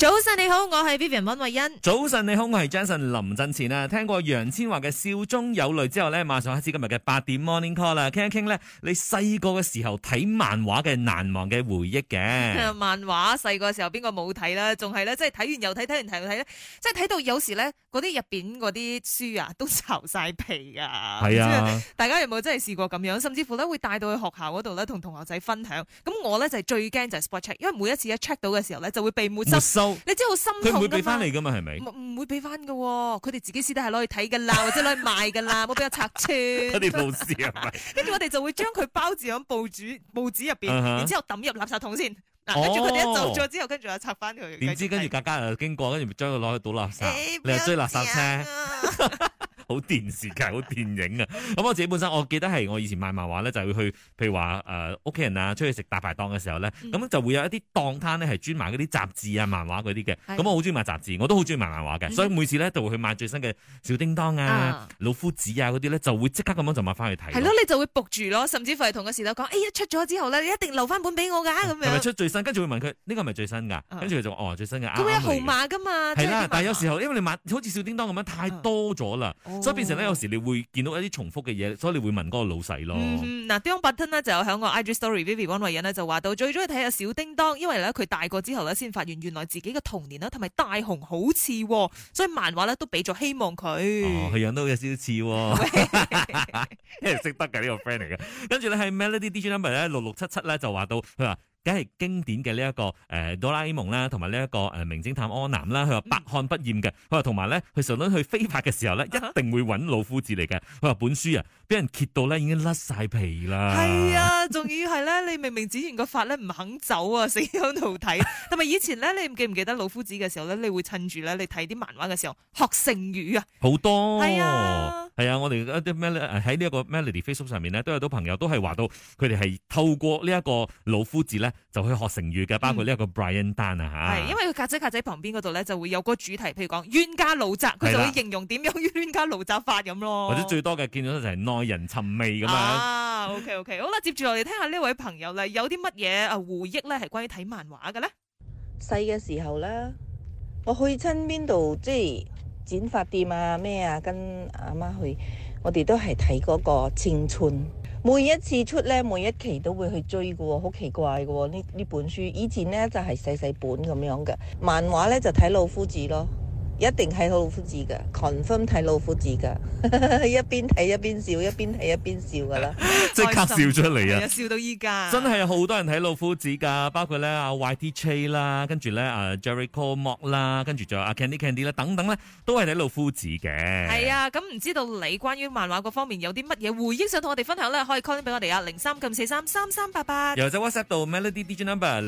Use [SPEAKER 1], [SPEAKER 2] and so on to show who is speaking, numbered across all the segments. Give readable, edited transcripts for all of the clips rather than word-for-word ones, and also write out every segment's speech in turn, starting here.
[SPEAKER 1] 早晨你好，我係 Vivian 溫慧欣。
[SPEAKER 2] 早晨你好，我係 Jason 林振前啊。聽過楊千嬅嘅笑中有淚之後咧，馬上開始今日嘅8點 Morning Call 啦，傾一傾咧你細個嘅時候睇漫畫嘅難忘嘅回憶嘅。
[SPEAKER 1] 漫畫細個時候邊個冇睇啦？仲係咧，即係睇完又睇，睇完睇又睇咧，即係睇到有時咧嗰啲入邊嗰啲書啊都巢晒皮啊。
[SPEAKER 2] 係啊，
[SPEAKER 1] 大家有冇真係試過咁樣？甚至乎咧會帶到去學校嗰度咧同同學仔分享。咁我咧就係最驚就係 spot check，因為每一次一 check 到嘅時候咧就會被沒收。你知好心痛㗎嘛？
[SPEAKER 2] 佢唔會俾翻你噶嘛？係咪？
[SPEAKER 1] 唔會俾翻㗎，佢哋自己私底下攞去睇噶啦，或者攞去賣噶啦，冇俾我拆穿。
[SPEAKER 2] 佢哋老師係咪？
[SPEAKER 1] 跟住我哋就會將佢包住喺報紙入邊，然之後抌入垃圾桶先。跟住佢哋一走咗之後，跟住又拆翻佢。
[SPEAKER 2] 點知跟住格格又經過，跟住將佢攞去倒垃圾，你又追垃圾車。好電視劇，好電影啊！咁我自己本身，我記得係我以前賣漫畫咧，就會去，譬如話屋企人啊，出去食大排檔嘅時候咧，咁就會有一啲檔攤咧係專賣嗰啲雜誌啊、漫畫嗰啲嘅。咁我好中意買雜誌，我都好中意買漫畫嘅，所以每次咧就會去買最新嘅小叮當啊、老夫子啊嗰啲咧，就會即刻咁樣就買翻去睇。係咯，
[SPEAKER 1] 你就會仆住咯，甚至乎係同個時頭講，一出咗之後咧，你一定留翻本俾我㗎咁樣。
[SPEAKER 2] 係咪出最新？跟住會問佢呢個係咪最新㗎？跟住佢就最新嘅。
[SPEAKER 1] 佢會有號碼㗎嘛？
[SPEAKER 2] 係啦，但係有時候因為你買好似小叮當咁樣太多咗啦，所以變成咧有時你會見到一啲重複嘅嘢，所以你會問嗰個老細咯。
[SPEAKER 1] 嗱，Dion Button 呢就有喺個 IG Story Vivi 溫慧欣呢就話到最中意睇下小叮當，因為咧佢大個之後咧先發現原來自己嘅童年啦同埋大雄好似，所以漫畫咧都俾咗希望佢。
[SPEAKER 2] 佢樣都有少少似，因為識得嘅呢個 friend 嚟嘅。跟住咧喺 Melody DJ Number 咧6677咧就話到佢話。梗係經典嘅呢一個哆啦 A 夢啦，同埋呢一個名偵探柯南啦。佢話百看不厭嘅。佢話同埋咧，佢上輪去飛髮嘅時候咧，一定會揾老夫子嚟嘅。佢話本書啊，俾人揭到咧已經甩晒皮啦。
[SPEAKER 1] 係啊，仲要係咧，你明明剪完個髮咧唔肯走啊，死喺度睇。同埋以前咧，你記唔記得老夫子嘅時候咧，你會趁住咧你睇啲漫畫嘅時候學成語啊？
[SPEAKER 2] 好多
[SPEAKER 1] 係啊，
[SPEAKER 2] 係啊，我哋一啲喺呢一個 Melody Facebook 上面咧，都有啲朋友都係話到佢哋係透過呢一個老夫子咧。就去學成語嘅，包括呢一個 Brian Dan 啊嚇。
[SPEAKER 1] 係，因為佢格仔旁邊嗰度咧就會有個主題，譬如講冤家路窄，佢就會形容點樣冤家路窄法咁咯。
[SPEAKER 2] 或者最多嘅見到就係耐人尋味咁樣。
[SPEAKER 1] OK， 好啦，接住落嚟聽下呢位朋友咧，有啲乜嘢回憶咧係關於睇漫畫嘅咧？
[SPEAKER 3] 細嘅時候咧，我去親邊度即係剪髮店啊咩啊，跟阿媽去，我哋都係睇嗰個青春。每一次出咧，每一期都會去追嘅喎，好奇怪嘅喎。呢本書以前咧就係細細本咁樣嘅，漫畫咧就睇老夫子咯，一定睇老夫子嘅 confirm 睇老夫子嘅，一邊睇一邊笑，一邊睇一邊笑噶啦，
[SPEAKER 2] 即刻笑出嚟啊！
[SPEAKER 1] 笑到依家，
[SPEAKER 2] 真係好多人睇老夫子噶，包括咧阿 YT 啦，跟住咧Jericho Mock 啦，跟住仲有阿 Candy 啦，等等咧，都係睇老夫子嘅。
[SPEAKER 1] 係啊，咁唔知道你關於漫畫嗰方面有啲乜嘢回憶想同我哋分享咧？可以 call 俾我哋啊，03-943-3388，
[SPEAKER 2] 又或者 WhatsApp 到 Melody DJ Number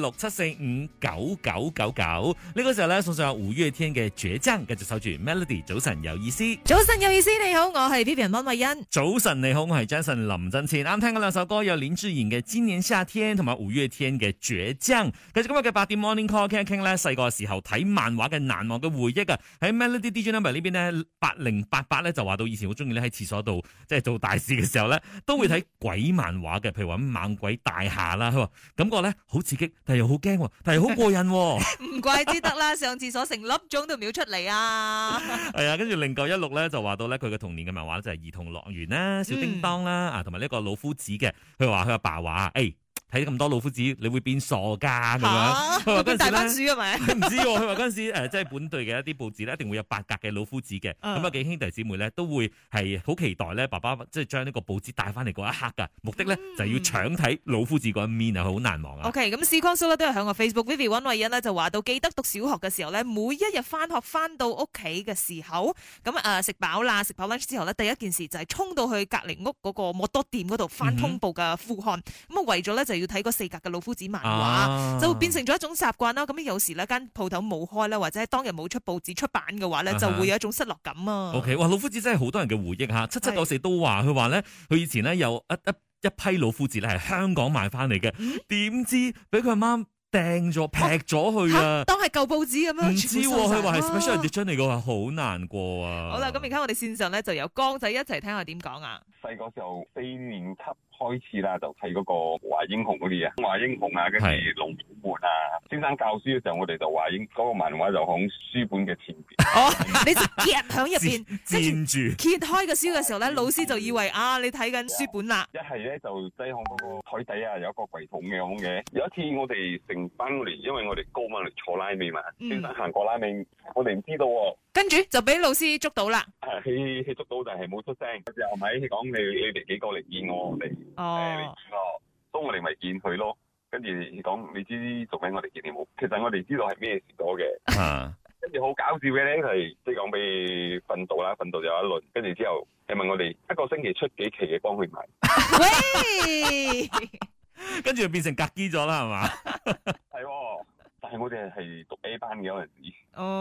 [SPEAKER 2] 0167459999。呢個時候咧送上5月天嘅倔強，繼續守住 Melody。早晨有意思，
[SPEAKER 1] 早晨有意思，你好，我係 Vivian 溫慧欣。
[SPEAKER 2] 早晨你好，我係 Jason 林振前。啱聽嗰兩首歌有林志穎嘅《今年夏天》同埋5月天嘅《倔強》。繼續今日嘅8點 Morning Call 傾一傾咧，細個時候睇漫畫嘅難忘嘅回憶啊！喺 Melody DJ Number 呢邊呢，8088咧就話到以前好中意咧喺廁所度即係做大事嘅時候咧，都會睇鬼漫畫嘅，譬如話猛鬼大廈啦。佢話感覺咧好刺激，但係又好驚，但係好過癮。
[SPEAKER 1] 唔怪之得啦，上廁所成粒鐘都秒出嚟啊！
[SPEAKER 2] 係啊，跟住0916咧就話到咧佢嘅童年嘅漫畫就係兒童樂園啦、小叮當啦同埋呢個老夫子嘅。佢話佢阿爸話睇咁多老夫子，你會變傻噶咁樣。佢話嗰陣時
[SPEAKER 1] 大番薯係咪？
[SPEAKER 2] 唔知喎。佢話嗰陣時即係本隊嘅一啲報紙咧，一定會有8格嘅老夫子嘅。咁幾兄弟姊妹咧都會係好期待咧，爸爸即係將呢個報紙帶翻嚟嗰一刻噶。目的咧就係要搶睇老夫子嗰一面啊，好難忘啊。
[SPEAKER 1] OK， 咁 C 光叔咧都係喺我 Facebook Vivi 溫慧欣咧就話到，記得讀小學嘅時候咧，每一日翻學翻到屋企嘅時候，咁食飽啦，食飽 lunch 之後咧，第一件事就係衝到去隔離屋嗰個摩多店嗰度翻通報嘅副刊。咁為咗咧就要睇個4格嘅老夫子漫畫，就會變成咗一種習慣啦。咁有時呢間鋪頭冇開啦，或者當日冇出報紙出版嘅話咧，就會有一種失落感啊。
[SPEAKER 2] OK， 哇，老夫子真係好多人嘅回憶嚇，7794都話佢話咧，佢以前咧有一批老夫子咧係香港買翻嚟嘅，點知俾佢阿媽掟咗劈咗去啊！
[SPEAKER 1] 當係舊報紙咁樣，
[SPEAKER 2] 唔知佢話係 special edition 嚟嘅，話好難過啊！
[SPEAKER 1] 好啦，咁而家我哋線上咧就有江仔一齊聽下點講啊！
[SPEAKER 4] 細個時候4年級開始啦，就睇嗰個華英雄嗰啲啊，華英雄啊，跟住龍虎門啊。先生教書嘅時候，我哋就華英嗰個漫畫就響書本嘅前邊。
[SPEAKER 1] 哦，你就夾響入邊，
[SPEAKER 2] 佔住
[SPEAKER 1] 揭開個書嘅時候咧，老師就以為啊，你睇緊書本啦。
[SPEAKER 4] 一係咧就擠響嗰個台底啊，有一個櫃桶嘅。有一次我哋成班我哋，因為我哋高嘛嚟坐拉尾嘛，先生行過拉尾，我哋唔知道喎。
[SPEAKER 1] 跟住就俾老師捉到啦。
[SPEAKER 4] 佢捉到，但係冇出聲。佢又咪佢講你哋幾個嚟見我哋？嚟見我，所以我哋咪見佢咯。跟住講你知做咩我哋見你冇？其實我哋知道係咩事咗嘅。跟住好搞笑嘅咧係，即係講俾訓導啦，訓導就有一輪。跟住之後，你問我哋一個星期出幾期嘅幫佢買。
[SPEAKER 1] 喂，
[SPEAKER 2] 跟住就變成格機咗啦，係嘛？
[SPEAKER 4] 係喎。但係我哋係讀 A 班嘅嗰陣時。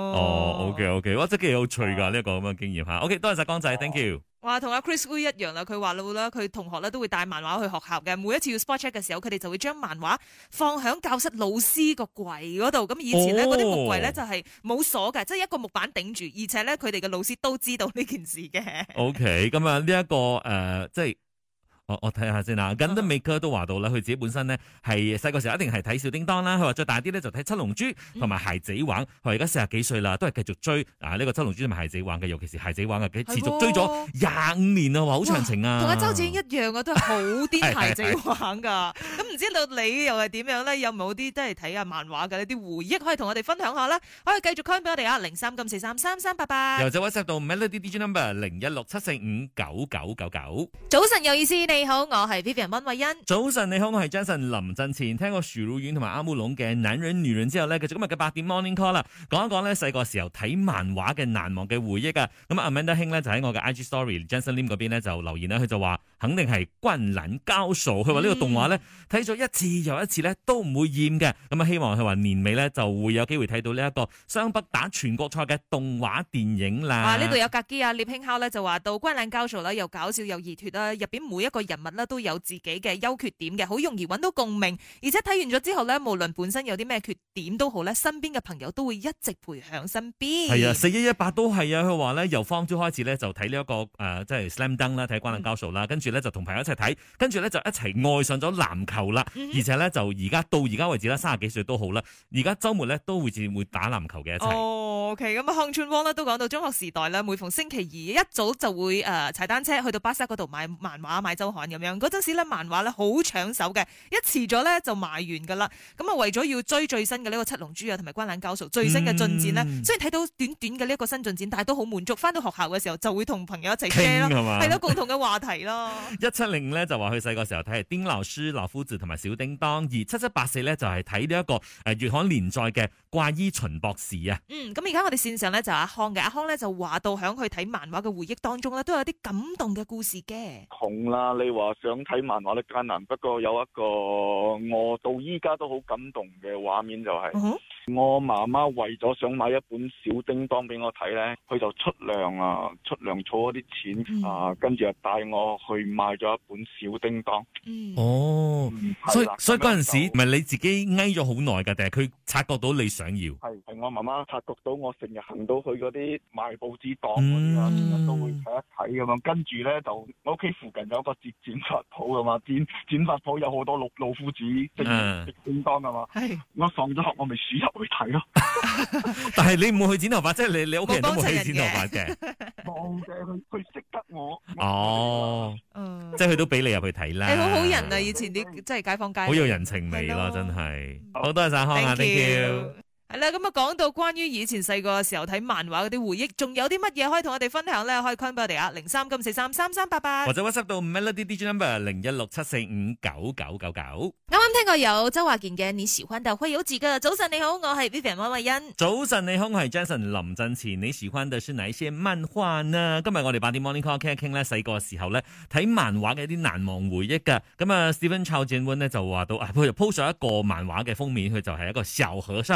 [SPEAKER 2] OK，哇，真係幾有趣㗎呢一個咁嘅經驗嚇。OK，多謝晒江仔，thank you。
[SPEAKER 1] 哇，同阿 Chris Wu 一樣啦，佢話啦，佢同學咧都會帶漫畫去學校嘅。每一次要 spot check 嘅時候，佢哋就會將漫畫放喺教室老師個櫃嗰度。咁以前咧嗰啲木櫃咧就係冇鎖嘅，即係一個木板頂住，而且咧佢哋嘅老師都知道呢件事嘅。
[SPEAKER 2] OK，咁啊呢一個即係。我睇下先啦，咁都美哥都話到啦，佢自己本身咧係細個時候一定係睇小叮當啦，佢話再大啲咧就睇七龍珠同埋孩子王，佢話而家40幾歲啦，都係繼續追呢個七龍珠同埋孩子王嘅，尤其是孩子王嘅，持續追咗25年啊，話好長情啊，
[SPEAKER 1] 同阿周子英一樣啊，都係好癲孩子王噶。咁唔知道你又係點樣咧？有冇啲真係睇下漫畫嘅呢啲回憶可以同我哋分享下啦？可以繼續 call 俾我哋啊，03-943-3388，
[SPEAKER 2] 又或者 WhatsApp 到 Melody DJ Number 0167459999。
[SPEAKER 1] 早晨有意思，你好，我係 Vivian 溫慧欣。
[SPEAKER 2] 早晨你好，我係 Jason 林振前。聽過許茹芸同埋阿姆龍嘅男人女人之後咧，繼續今日嘅8點 Morning Call 啦，講一講咧細個時候睇漫畫嘅難忘嘅回憶啊。咁啊 Amanda 兄咧就喺我嘅 IG Story Jason Lim 嗰邊咧就留言啦，佢就話肯定係灌籃高手，佢話呢個動畫咧睇咗一次又一次咧都唔會厭嘅。咁啊希望佢話年尾咧就會有機會睇到呢一個雙北打全國賽嘅動畫電影啦。
[SPEAKER 1] 呢度有格基啊，聶興烤咧就話到灌籃高手啦，又搞笑又熱血啦，入邊每一個人物咧都有自己嘅優缺點嘅，好容易揾到共鳴。而且睇完咗之後咧，無論本身有啲咩缺點都好咧，身邊嘅朋友都會一直陪喺身邊。
[SPEAKER 2] 係啊，4118都係啊，佢話咧由方朝開始咧就睇呢一個即係 Slam Dunk 啦，睇灌籃高手啦，跟住咧就同朋友一齊睇，跟住咧就一齊愛上咗籃球啦。而且咧就而家到而家為止啦，30幾歲都好啦，而家週末咧都會打籃球嘅一齊。
[SPEAKER 1] OK， 咁啊，康春汪咧都講到中學時代咧，每逢星期二一早就會踩單車去到巴剎嗰度買漫畫、買週刊咁樣。嗰陣時咧漫畫咧好搶手嘅，一遲咗咧就賣完噶啦。咁啊為咗要追最新嘅呢個七龍珠啊同埋灌籃高手最新嘅進展咧，雖然睇到短短嘅呢一個新進展，但係都好滿足。翻到學校嘅時候就會同朋友一齊 share 咯，係咯，共同嘅話題咯。
[SPEAKER 2] 170咧就話佢細個時候睇係丁老師、老夫子同埋小叮當，而7784咧就係睇呢一個月刊連載嘅怪醫秦博士啊。
[SPEAKER 1] 咁而家我哋線上咧就阿康嘅，阿康咧就話到響佢睇漫畫嘅回憶當中咧都有啲感動嘅故事嘅。
[SPEAKER 5] 窮啦，你話想睇漫畫咧艱難，不過有一個我到依家都好感動嘅畫面就係、我媽媽為咗想買一本小叮當俾我睇咧，佢就出糧儲咗啲錢、跟住就帶我去買咗一本小叮當。
[SPEAKER 2] 所以嗰陣時唔係你自己翳咗好耐㗎，定係佢察覺到你想要？係
[SPEAKER 5] 我媽媽察覺到我成日行到去嗰啲賣報紙檔嗰啲啊，成日都會睇一睇咁樣。跟住咧就我屋企附近有一個剪髮鋪㗎嘛，剪髮鋪有好多老夫子即係叮當㗎嘛。我放咗學我咪鼠入去睇咯。
[SPEAKER 2] 但係你唔會去剪頭髮，即係你屋企人都冇去剪頭髮嘅。
[SPEAKER 5] 冇嘅，佢識得我。
[SPEAKER 2] 即係佢都俾你入去睇啦。
[SPEAKER 1] 係好好人啊！以前啲即係街坊街，
[SPEAKER 2] 好有人情味咯，真係。好多謝晒康啊 ，thank you。
[SPEAKER 1] 係啦，咁啊講到關於以前細個嘅時候睇漫畫嗰啲回憶，仲有啲乜嘢可以同我哋分享咧？可以 call 俾我哋啊，03-943-3388，
[SPEAKER 2] 或者 WhatsApp 到 Melody DJ Number 0167459999。
[SPEAKER 1] 啱啱聽過有周華健嘅你喜歡的會有幾個。早晨你好，我係 Vivian 溫慧欣。
[SPEAKER 2] 早晨你好，我係 Jason 林振前。你喜歡的是哪一些漫畫呢？今日我哋8點 Morning Call 傾一傾咧，細個時候咧睇漫畫嘅一啲難忘回憶噶。咁啊 Stephen Chow Jin Won 咧就話到佢就 post 咗一個漫畫嘅封面，佢就係一個小和尚。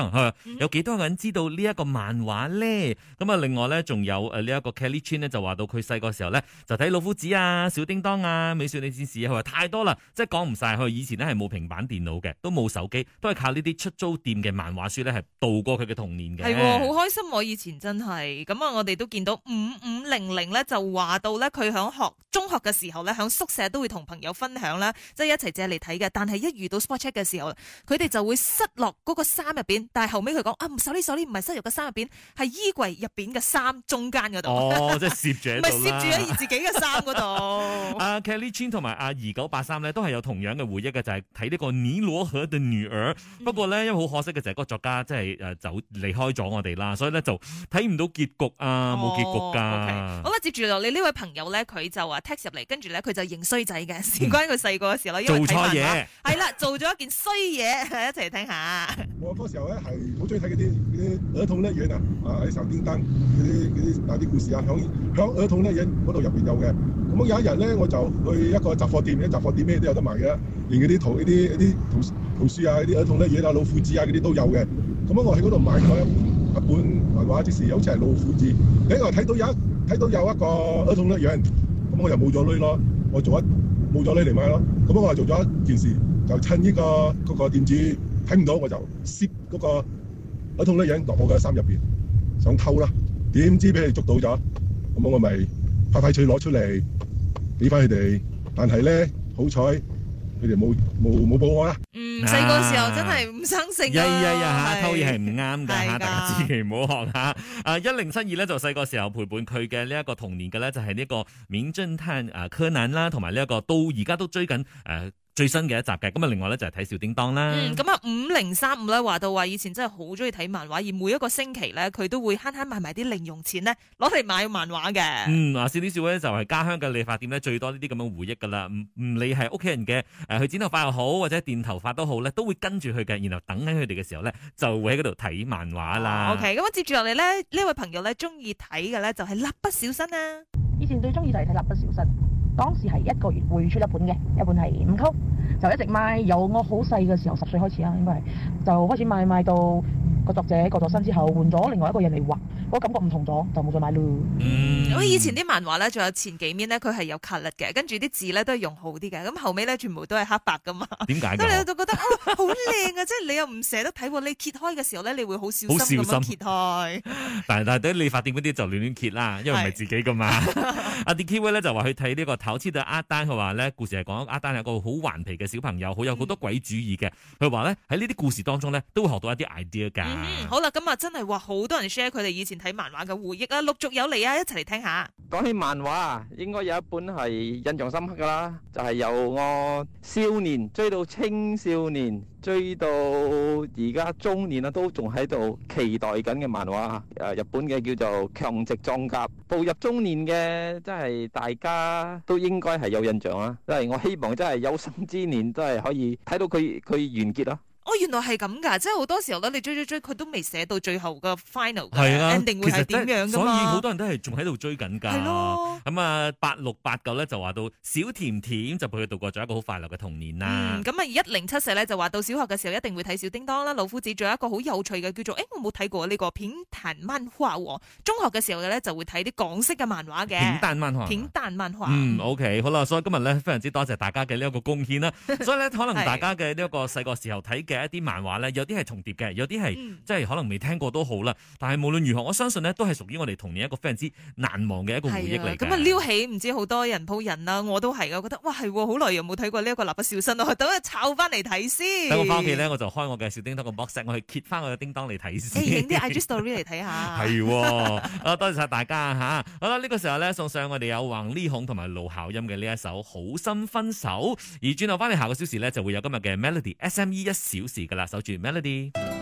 [SPEAKER 2] 有幾多個人知道呢一個漫畫咧？咁啊，另外咧仲有呢一個 Kelly Chin 咧就話到佢細個時候咧就睇老夫子啊、小叮當啊、美少女戰士啊，佢話太多啦，即係講唔晒。佢以前咧係冇平板電腦嘅，都冇手機，都係靠呢啲出租店嘅漫畫書咧係度過佢嘅童年嘅。
[SPEAKER 1] 係好開心，我以前真係咁啊！我哋都見到5500咧就話到咧佢響中學嘅時候咧響宿舍都會同朋友分享啦，即係一齊借嚟睇嘅。但係一遇到 spot check 嘅時候，佢哋就會塞落嗰個衫入邊。但係後尾佢講啊，sorry，唔係塞入個衫入邊，係衣櫃入邊嘅衫中間嗰度。
[SPEAKER 2] 哦，即係攝住喺度啦。
[SPEAKER 1] 唔係攝住喺自己嘅衫嗰度。
[SPEAKER 2] 阿 Kelly Chin 同埋阿2983咧都係有同樣嘅回憶嘅，就係睇呢個尼羅河的女兒。不過咧，因為好可惜嘅就係嗰個作家即係走離開咗我哋啦，所以咧就睇唔到結局啊，冇結局㗎。
[SPEAKER 1] Okay. 好啦，接住落你呢位朋友咧，佢就話 text 入嚟，跟住咧佢就認衰仔嘅，事關佢細個嘅時候因為
[SPEAKER 2] 做錯嘢，
[SPEAKER 1] 係啦，做咗一件衰嘢，一齊嚟聽下。
[SPEAKER 6] 我嗰時候咧係好中意睇嗰啲兒童樂園啊，喺手叮當嗰啲故事啊，響兒童樂園嗰度入邊有嘅。咁有一日咧，我就去一個雜貨店，雜貨店咩都有得賣嘅，連嗰啲圖書啊、啲兒童樂園啊、老夫子啊嗰啲都有嘅。咁我喺嗰度買咗一本漫畫，即是好似係老夫子。另外睇到有一個兒童樂園，咁我又冇咗鐳咯，我冇咗鐳嚟買咯。咁我就做咗一件事，就趁呢嗰個店主睇唔到，我就攝嗰個兒童樂園落我嘅衫入邊，想偷啦。點知俾佢捉到咗，咁我咪快脆攞出嚟俾翻佢哋。但係咧，好彩佢哋冇報我啦。
[SPEAKER 1] 細個時候真係唔生性啊！
[SPEAKER 2] 偷嘢係唔啱㗎嚇，大家千祈唔好學嚇。1072咧就細個時候陪伴佢嘅呢一個童年嘅咧，就係呢個名偵探柯南啦，同埋呢一個到而家都追緊最新嘅一集嘅。咁啊，另外咧就係睇小叮當啦。
[SPEAKER 1] 咁啊5035咧話到話以前真係好中意睇漫畫，而每一個星期咧佢都會慳慳埋啲零用錢咧攞嚟買漫畫嘅。
[SPEAKER 2] 少啲少咧就係家鄉嘅理髮店咧最多呢啲咁嘅回憶㗎啦。唔理係屋企人嘅去剪頭髮又好，或者電頭髮都好咧，都會跟住佢嘅，然後等緊佢哋嘅時候咧就會喺嗰度睇漫畫啦。
[SPEAKER 1] OK，咁接住落嚟咧呢位朋友咧中意睇嘅咧就係蠟筆小新啊。
[SPEAKER 7] 以前最中意就係睇蠟筆小新。當時係1個月會出一本嘅，一本係5扣，就一直買。由我好細嘅時候10歲開始啦，應該係就開始買到個作者過咗身之後，換咗另外一個人嚟畫，嗰感覺唔同咗，就冇再買咯。
[SPEAKER 1] 我以前啲漫畫咧，仲有前幾面咧，佢係有 colour 嘅，跟住啲字咧都係用好啲嘅。咁後尾咧全部都係黑白噶嘛。
[SPEAKER 2] 點解？
[SPEAKER 1] 咁你就覺得好靚啊！即係你又唔捨得睇喎，你揭開嘅時候咧，你會好小心咁樣揭開。
[SPEAKER 2] 但係啲理髮店嗰啲就亂揭啦，因為唔係自己噶嘛。阿 DK 咧就話去睇呢個頭黐對阿丹，佢話咧故事係講阿丹係一個好頑皮嘅小朋友，好有好多鬼主意嘅。佢話咧喺呢啲故事當中咧都會學到一啲 idea 㗎。
[SPEAKER 1] 好啦，咁啊真係話好多人 share 佢哋以前睇漫畫嘅回憶啊，陸續有嚟啊，一齊嚟聽下。
[SPEAKER 8] 講起漫畫啊，應該有一本係印象深刻噶啦，就係由我少年追到青少年，追到而家中年啊，都仲喺度期待緊嘅漫畫。日本嘅叫做《強直裝甲》，步入中年嘅，真係大家都應該係有印象啦。即係我希望真係有生之年都係可以睇到佢完結咯。
[SPEAKER 1] 原來係咁㗎，即係好多時候咧，你追佢都未寫到最後嘅 final 嘅 ending 會係點樣㗎嘛？
[SPEAKER 2] 所以好多人都係仲喺度追緊㗎。
[SPEAKER 1] 係咯。
[SPEAKER 2] 咁啊，8689咧就話到小甜甜就陪佢度過咗一個好快樂嘅童年啦。
[SPEAKER 1] 咁啊1074咧就話到小學嘅時候一定會睇小叮當啦，老夫子，仲有一個好有趣嘅叫做我冇睇過呢個片彈漫畫喎。中學嘅時候咧就會睇啲港式嘅漫畫嘅。片彈漫畫。
[SPEAKER 2] OK， 好啦，所以今日咧非常之多謝大家嘅呢一個貢獻啦。所以咧可能大家嘅呢一個細個時候睇嘅一啲漫畫咧，有啲係重疊嘅，有啲係即係可能未聽過都好啦。但係無論如何，我相信咧都係屬於我哋童年一個非常之難忘嘅一個回憶嚟嘅。
[SPEAKER 1] 咁啊撩起唔知好多人鋪人啦，我都係噶，覺得哇係好耐又冇睇過呢一個蠟筆小新咯，等我抄翻嚟睇先。
[SPEAKER 2] 等我翻屋企咧，我就開我嘅小叮當個 box， 我去揭翻我嘅叮當嚟睇先。
[SPEAKER 1] 影啲 IG story 嚟睇下。
[SPEAKER 2] 係，多謝晒大家吓。好啦，呢個時候咧送上我哋有黃呢孔同埋盧巧音嘅呢一首《好心分手》，而轉頭翻嚟下個小時咧就會有今日嘅 Melody SME 1小時噶啦，守住 Melody。